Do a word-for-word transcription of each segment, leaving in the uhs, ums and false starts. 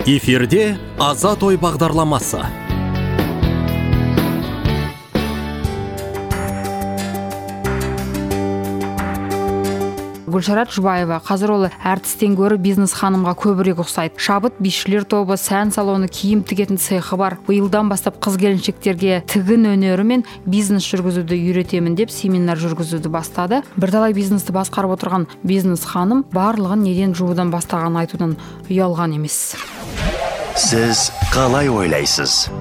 Эфирде Азат ой бағдарламасы. Гүлшарат Жұбаева қазір ол әртістен гөрі бизнес ханымға көбірек ұқсайды. Шабыт бишілер тобы, сән салоны, киім тігетін цехы бар. Биылдан бастап қыз-келіншектерге тігін өнері мен бизнес жүргізуді үйретемін деп семинар жүргізуді бастады. Бірталай бизнесті басқарып отырған бизнес ханым барлығын неден жуудан бастағанын айтудан ұялған емес. Сіз қалай ойлайсыз?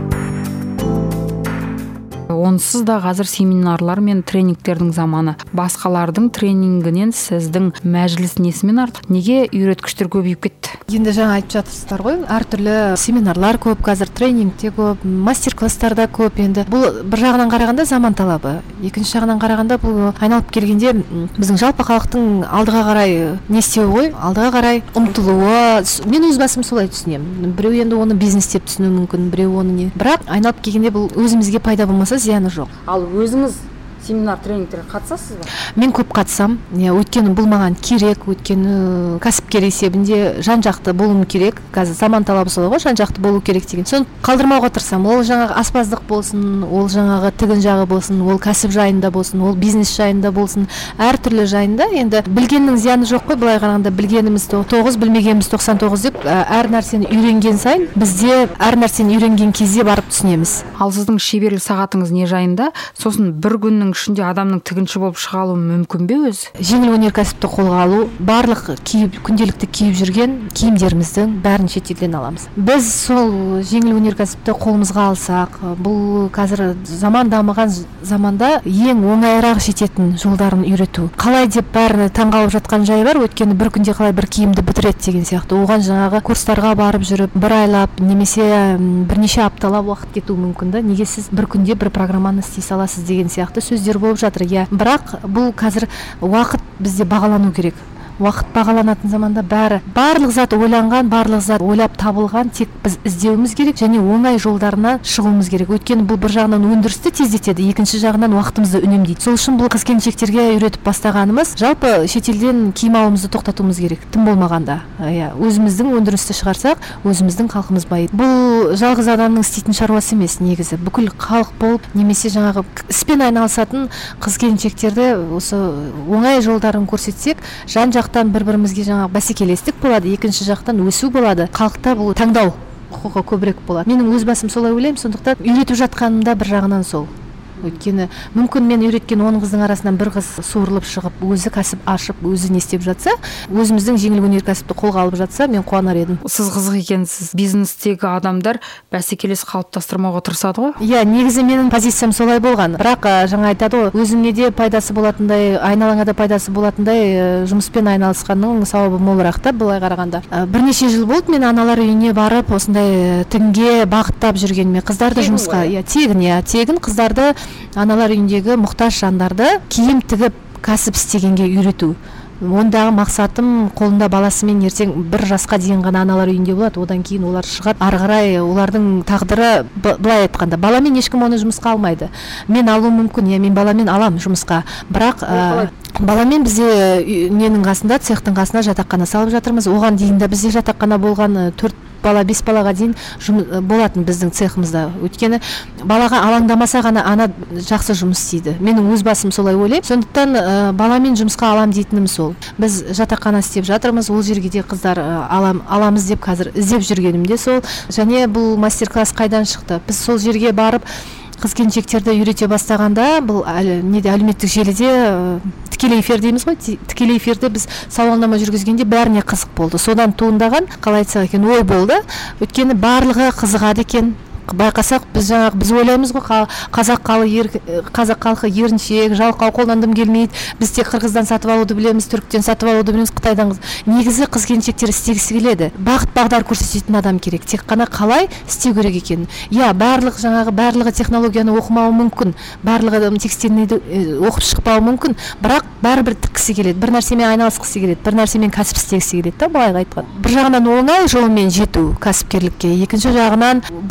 Онсыз да қазір семинарлар мен тренингтердің заманы. Басқалардың тренингінен сіздің мәжіліс несімен артық? Неге үйреткіштер көбейіп кетті? Енді жаңа айтып жатырсыздар ғой, әртүрлі семинарлар көп, қазір тренингте көп, мастер-класстарда көп. Енді бұл бір жағынан қарағанда заман талабы. Екінші жағынан қарағанда бұл айналып келгенде біздің жалпы халықтың алдыға қарай не істеуі ғой, алдыға қарай ұмтылуы. Мен өз басым солай түсінемін. Біреу енді оны бизнес деп түсінуі мүмкін, біреу оны не. Бірақ айналып келгенде бұл өзімізге пайда болмаса зияны жоқ. Ал өзіңіз семинар тренингтерге қатысасыз ба? Мен көп қатысам. Өйткені бұл маған керек, өйткені кәсіпкер есебінде жан-жақты болуым керек. Қазір заман талабы солай ғой, жан-жақты болу керек деген. Соны қалдырмауға тырысамын. Ол жаңағы аспаздық болсын, ол жаңағы тігін жағы болсын, ол кәсіп жайында болсын, ол бизнес жайында болсын, әртүрлі жайында. Енді білгеннің зияны жоқ қой, былай қарағанда білгеніміз тоғыз, білмегеніміз тоқсан тоғыз деп, әр нәрсені үйренген сайын бізде әр нәрсені үйренген кезде барып түсінеміз. Ал сіздің шеберлік сағатыңыз не жайында? Сосын бір күннің ішінде адамның тігінші болып шыға алуы мүмкін бе өзі? Жеңіл өнеркәсіпті қолға алу, барлық киіп, күнделікті киіп жүрген киімдеріміздің бәрін шетелден аламыз. Біз сол жеңіл өнеркәсіпті қолымызға алсақ, бұл қазір заман дамыған заманда ең оңайырақ жететін жолдарын үйрету. Қалай деп бәріне таңғалып жатқан жай бар, өйткені бір күнде қалай бір киімді бітіреді деген сияқты. Оған жаңағы курстарға барып жүріп, бір айлап немесе бірнеше апталап уақыт кетуі мүмкін да. Неге сіз бір күнде бір программаны істей саласыз деген сияқты сөздер болып жатыр. Я, бірақ бұл қазір уақыт бізде бағалану керек. Уақыт бағаланатын заманда бәрі, барлық зат ойланған, барлық зат ойлап табылған, тек біз іздеуіміз керек және оңай жолдарына шығуымыз керек. Өйткені бұл бір жағынан өндірісті тездетеді, екінші жағынан уақытымызды үнемдейді. Сол үшін бұл қыз-келіншектерге үйретіп бастағанымыз, жалпы шетелден киім алуымызды тоқтатуымыз керек. Тым болмағанда, иә, өзіміздің өндірісті шығарсақ, өзіміздің халқымыз байиды. Бұл жалғыз адамның істейтін шаруасы емес негізі. Бүкіл халық болып, немесе жаңағы іспен айналысатын қыз-келіншектерді осы оңай жолдарын көрсетсек, жан-жақ бір-бірімізге жаңағы бәсекелестік болады, екінші жақтан өсу болады. Халықта бұл таңдау құқығы көбірек болады. Менің өз басым солай ойлаймын, сондықтан үйретіп жатқанымда бір жағынан сол. Өйткені мүмкін мен үйреткен он қыздың арасынан бір қыз суырылып шығып, өзі кәсіп ашып, өзі не істеп жатса, өзіміздің жеңіл өнеркәсіпті қолға алып жатса, мен қуанар едім. Сіз қызық екенсіз. Бизнестегі адамдар бәсекелес қалыптастырмауға тырысады ғой? Иә, негізі менің позициям солай болған. Бірақ жаңа айтады ғой, өзіңе де пайдасы болатындай, айналаңа да пайдасы болатындай жұмыспен айналысқанның сауабы молырақ та былай қарағанда. Бірнеше жыл болды мен аналар үйіне барып, осындай тігінге бағыттап жүргеніме, қыздарды жұмысқа, иә, тегін, иә, тегін қыздарды аналар үйіндегі мұқтаж жандарды киім тігіп кәсіп істегенге үйрету. Ондағы мақсатым қолында баласымен ертең бір жасқа дейін ғана аналар үйінде болады, одан кейін олар шығады, ары қарай олардың тағдыры былай айтқанда, баламен ешкім оны жұмысқа алмайды. Мен алуым мүмкін, я мен баламен алам жұмысқа, бірақ ә, баламен бізде ненің қасында, цехтың қасына жатақхана салып жатырмыз. Оған дейін де бізде жатақхана болған төрт бала, бес балаға дейін болатын біздің цехымызда. Өйткені балаға алаңдамаса ғана ана жақсы жұмыс істейді. Менің өз басым солай ойлаймын. Сондықтан ә, баламен жұмысқа алам дейтінім сол. Біз жатақхана істеп жатырмыз, ол жерге де қыздар ә, алам, аламыз деп қазір іздеп жүргенім де сол. Және бұл мастер-класс қайдан шықты? Біз сол жерге барып қыз-келіншектерді үйрете бастағанда, бұл неде әлеуметтік желіде тікелей эфир дейміз ғой, тікелей эфирде біз сауалнама жүргізгенде бәріне қызық болды. Содан туындаған, қалай айтсақ екен, ой болды. Өйткені барлығы қызығады екен. Байқасақ, біз жаңағы біз ойлаймыз ғой, қазақ халқы қазақ халқы еріншек, жалқау, қолдан дым келмейді. Біз тек қырғыздан сатып алуды білеміз, түріктен сатып алуды білеміз, қытайдан. Негізі қыз-келіншектер істегісі келеді. Бағыт бағдар көрсететін адам керек. Тек қана қалай істеу керек екенін. Иә, барлық жаңағы барлығы технологияны оқымауы мүмкін, барлығы текстильныйды оқып шықпауы мүмкін, бірақ бәрібір тіккісі келеді. Бір нәрсемен айналысқысы келеді, бір нәрсемен кәсіп істегісі келеді. Та былай айтқан. Бір жағынан оңай жолмен жету кәсіпкерлікке, екінші жағынан бірнеше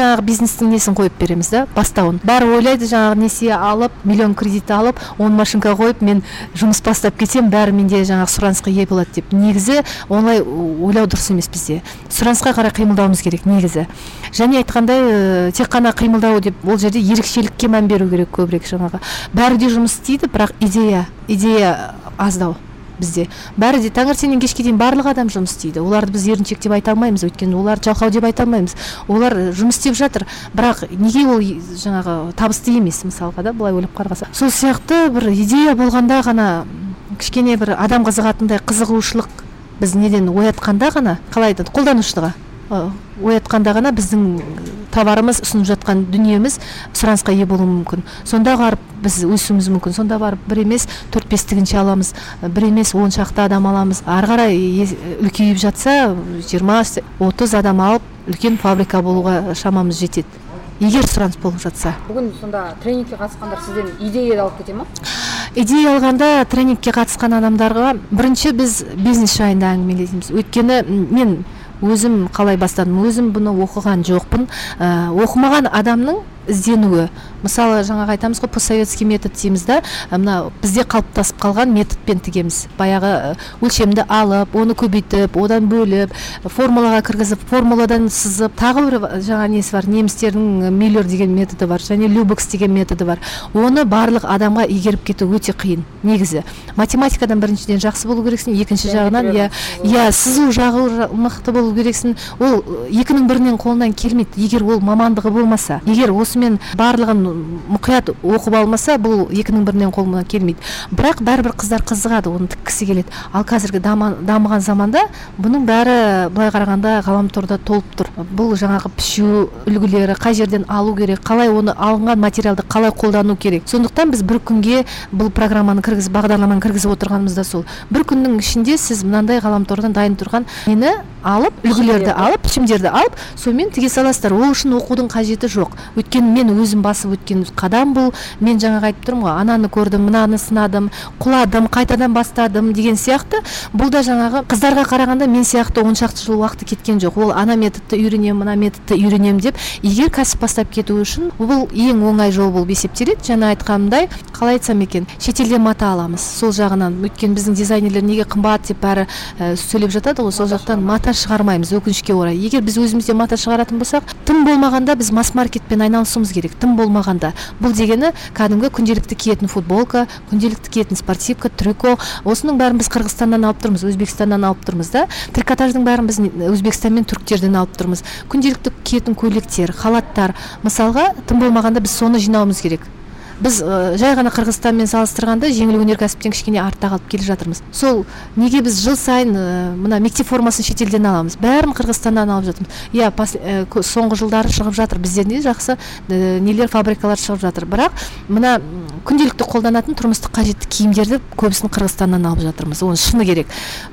жаңағы бизнестің несін қойып береміз да, бастауын. Бәрі ойлайды жаңағы несие алып, миллион кредит алып, он машинка қойып, мен жұмыс бастап кетсем, бәрі менде жаңағы сұранысқа ие болады деп. Негізі онлай ойлау дұрыс емес бізде. Сұранысқа қарай қимылдауымыз керек негізі. Және айтқандай, тек қана қимылдау деп, ол жерде ерекшелікке мән беру керек көбірек жаңағы. Бәрі де жұмыс істейді, бірақ идея, идея аздау. Бізде бәрі де таңертеңнен кешке дейін барлық адам жұмыс істейді. Оларды біз еріншек деп айта алмаймыз, өйткені олар жалқау деп айта алмаймыз. Олар жұмыс істеп жатыр, бірақ неге ол жаңағы табысты емес, мысалға да, былай ойлап қарғаса. Сол сияқты бір идея болғанда ғана, кішкене бір адам қызығатындай қызығушылық біз неден оятқанда ғана, қалай айтады, қолданушыға оятқанда ғана біздің товарымыз, ұсынып жатқан дүниеміз сұранысқа ие болуы мүмкін. Сонда барып біз өсуіміз мүмкін. Сонда барып бір емес төрт бестігінші аламыз, бір емес он шақты адам аламыз. Ары қарай үлкейіп жатса, жиырма отыз адам алып, үлкен фабрика болуға шамамыз жетеді. Егер сұраныс болып жатса. Бүгін сонда тренингке қатысқандар сізден идея алып кете ма? Идея алғанда тренингке қатысқан адамдарға бірінші біз бизнес жайында әңгімелейміз. Өйткені мен өзім қалай бастадым, өзім бұны оқыған жоқпын. Ә, оқымаған адамның ізденуі. Мысалы, жаңағы айтамыз ғой, постсоветский метод дейміз да, мына бізде қалыптасып қалған методпен тігеміз. Баяғы өлшемді алып, оны көбейтіп, одан бөліп, формулаға кіргізіп, формуладан сызып, тағы бір жаңа несі бар, немістердің Миллер деген методы бар, және Любекс деген методы бар. Оны барлық адамға игеріп кету өте қиын. Негізі математикадан біріншіден жақсы болу керексің, екінші жағынан я я сызу жағы мықты болу керексің. Ол екінің бірінен қолынан келмейді, егер ол мамандығы болмаса. Егер осымен барлығын мұқият оқып алмаса, бұл екінің бірінен қолынан келмейді. Бірақ бәрібір қыздар қызығады, оны тіккісі келеді. Ал қазіргі дамыған заманда бұның бәрі былай қарағанда ғаламторда толып тұр. Бұл жаңағы пішу үлгілері, қай жерден алу керек, қалай оны алынған материалды қалай қолдану керек. Сондықтан біз бір күнге бұл программаны кіргізіп, бағдарламаны кіргізіп отырғанымыз да сол. Бір күннің ішінде сіз мынандай ғаламтордан дайын тұрған нені алып, үлгілерді алып, пішімдерді алып, сонымен тіге саласыздар. Ол үшін оқудың қажеті жоқ. Өйткені мен өзім басып өткен қадам бұл. Мен жаңағы айтып тұрмын ғой, ананы көрдім, мынаны сынадым, құладым, қайтадан бастадым деген сияқты. Бұл да жаңағы қыздарға қарағанда мен сияқты он шақты жыл уақыты кеткен жоқ. Ол ана методты үйренем, мына методты үйренем деп, егер кәсіп бастап кету үшін бұл ең оңай жол болып есептеледі. Жаңа айтқанымдай, қалай айтсам екен, шетелден мата аламыз. Сол жағынан, өйткені біздің дизайнерлер неге қымбат деп бәрі ә, сөйлеп жатады ғой, сол жақтан мата шығармаймыз, өкінішке орай. Егер біз өзімізде мата шығаратын болсақ, тым болмағанда біз масс-маркетпен айналысуымыз керек. Тым болмағанда. Бұл дегені кәдімгі күнделікті киетін футболка, күнделікті киетін спортивка, трюко. Осының бәрін біз Қырғызстаннан алып тұрмыз, Өзбекстаннан алып тұрмыз да. Трикотаждың бәрін біз Өзбекстан мен түріктерден алып тұрмыз. Күнделікті киетін көйлектер, халаттар. Мысалға, тым болмағанда біз соны жинауымыз керек. Біз ә, жай ғана Қырғызстанмен салыстырғанда жеңіл өнеркәсіптен кішкене артта қалып келе жатырмыз. Сол неге біз жыл сайын ә, мына мектеп формасын шетелден аламыз, бәрін Қырғызстаннан алып жатырмыз. Иә, ә, соңғы жылдары шығып жатыр, біздерде жақсы ә, нелер, фабрикалар шығып жатыр. Бірақ мына күнделікті қолданатын тұрмыстық қажетті киімдерді көбісін Қырғызстаннан алып жатырмыз. Оны шыны керек.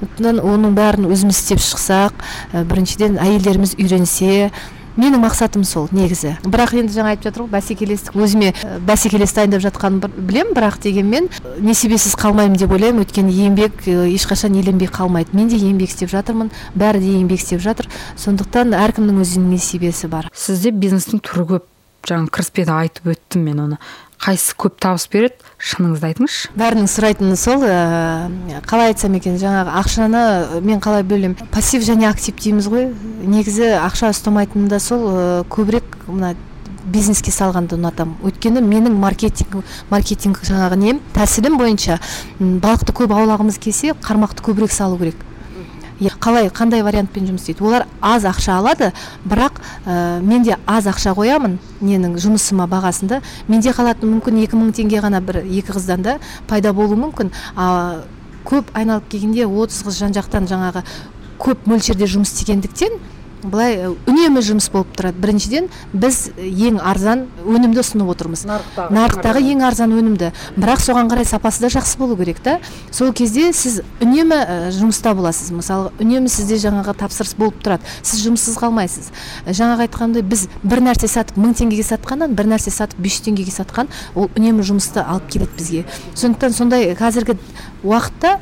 Оның бәрін өзіміз істеп шықсақ, ә, біріншіден әйелдеріміз үйренсе. Менің мақсатым сол негізі. Бірақ енді жаңа айтып жатыр ғой, бәсекелестік, өзіме бәсекелес дайындап жатқанын білем, бірақ дегенмен несібесіз қалмаймын деп ойлаймын. Өйткені еңбек ешқашан еленбей қалмайды. Мен де еңбек істеп жатырмын, бәрі де еңбек істеп жатыр. Сондықтан әркімнің өзінің несібесі бар. Сізде бизнестің түрі көп. Жаңа кіріспеде айтып өттім мен оны. Қайсысы көп табыс береді? Шыныңызды айтыңызшы. Бәрінің сұрайтыны сол, ә, қалай айтсам екен, жаңағы ақшаны мен қалай бөлем? Пассив және актив дейміз ғой. Негізі ақша ұстамайтыны да сол, ә, көбірек мына бизнеске салғанды ұнатам. Өйткені менің маркетинг, маркетинг жаңағы нем, тәсілім бойынша балықты көп аулағымыз келсе, қармақты көбірек салу керек. Қалай, қандай вариантпен жұмыс істейді? Олар аз ақша алады, бірақ ә, мен де аз ақша қоямын ненің жұмысыма бағасында. Менде қалатын мүмкін екі мың теңге ғана бір екі қыздан да пайда болуы мүмкін. А, көп айналып келгенде отыз қыз жан жақтан жаңағы көп мөлшерде жұмыс істегендіктен былай үнемі жұмыс болып тұрады. Біріншіден біз ең арзан өнімді ұсынып отырмыз. Нарықтағы, нарықтағы ең арзан өнімді. Бірақ соған қарай сапасы да жақсы болу керек та. Сол кезде сіз үнемі жұмыста боласыз. Мысалы, үнемі сізде жаңағы тапсырыс болып тұрады. Сіз жұмыссыз қалмайсыз. Жаңағы айтқандай, біз бір нәрсе сатып мың теңгеге сатқаннан бір нәрсе сатып бес жүз теңгеге сатқан, ол үнемі жұмысты алып келеді бізге. Сондықтан сондай қазіргі уақытта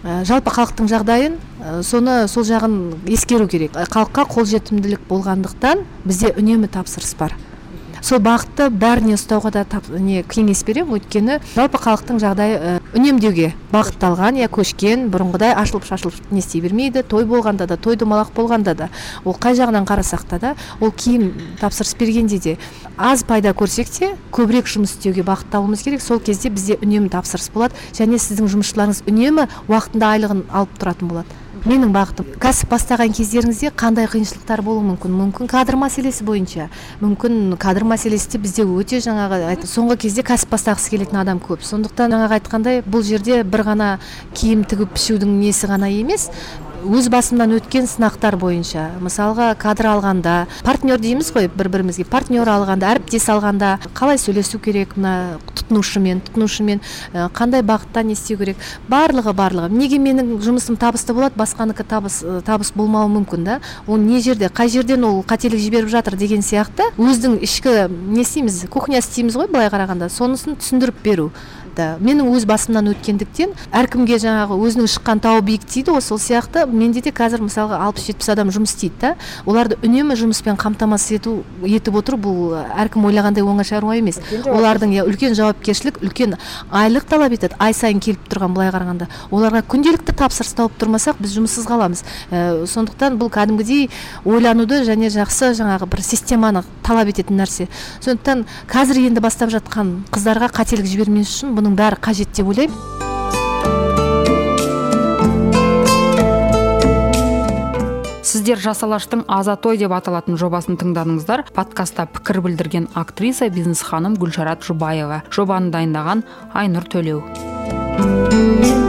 жалпы халықтың жағдайын, соны сол жағын ескеру керек. Халыққа қолжетімділік болғандықтан бізде үнемі тапсырыс бар. Сол бағытты бәріне ұстауға да тап, не кеңес беремін, өйткені жалпы халықтың жағдайы үнемдеуге бағытталған, я көшкен, бұрынғыдай ашылып шашылып не істей бермейді. Той болғанда да, той домалақ болғанда да, ол қай жағынан қарасақ та да, ол киім тапсырыс бергенде де аз пайда көрсек те көбірек жұмыс істеуге бағытталуымыз керек. Сол кезде бізде үнемі тапсырыс болады, және сіздің жұмысшыларыңыз үнемі уақытында айлығын алып тұратын болады. Менің бағытым, кәсіп бастаған кездеріңізде қандай қиыншылықтар болуы мүмкін? Мүмкін кадр мәселесі бойынша, мүмкін кадр мәселесі де бізде өте жаңағы айт, соңғы кезде кәсіп бастағысы келетін адам көп. Сондықтан жаңағы айтқандай, бұл жерде бір ғана киім тігіп пішудің несі ғана емес, өз басымнан өткен сынақтар бойынша, мысалға кадр алғанда, партнер дейміз ғой, бір-бірімізге партнер алғанда, әріптес алғанда қалай сөйлесу керек, мына тұтынушымен, тұтынушымен қандай бағытта не істеу керек, барлығы барлығы. Неге менің жұмысым табысты болады, басқаныкі табыс табыс болмауы мүмкін да? Ол не жерде, қай жерден ол қателік жіберіп жатыр деген сияқты, өздің ішкі не істейміз, кухня істейміз ғой, былай қарағанда, сонысын түсіндіріп беру. Менің өз басымнан өткендіктен әркімге жаңағы өзінің шыққан тауы биік дейді, сол сияқты менде де қазір мысалға алпыс жетпіс адам жұмыс істейді да. Оларды үнемі жұмыспен қамтамасыз ету етіп отыр, бұл әркім ойлағандай оңай шаруа емес. Олардың я үлкен жауапкершілік, үлкен айлық талап етеді, ай сайын келіп тұрған былай қарағанда. Оларға күнделікті тапсырыс тауып тұрмасақ, біз жұмыссыз қаламыз. Ә, сондықтан бұл кәдімгідей ойлануды және жақсы жаңағы бір системаны талап ететін нәрсе. Сондықтан қазір енді бастап жатқан қыздарға қателік жібермес үшін бұның бәрі қажет деп ойлаймын. Сіздер Жас алаштың Азат ой деп аталатын жобасын тыңдадыңыздар. Подкастта пікір білдірген актриса, бизнес ханым Гүлшарат Жұбаева. Жобаны дайындаған Айнұр Төлеу.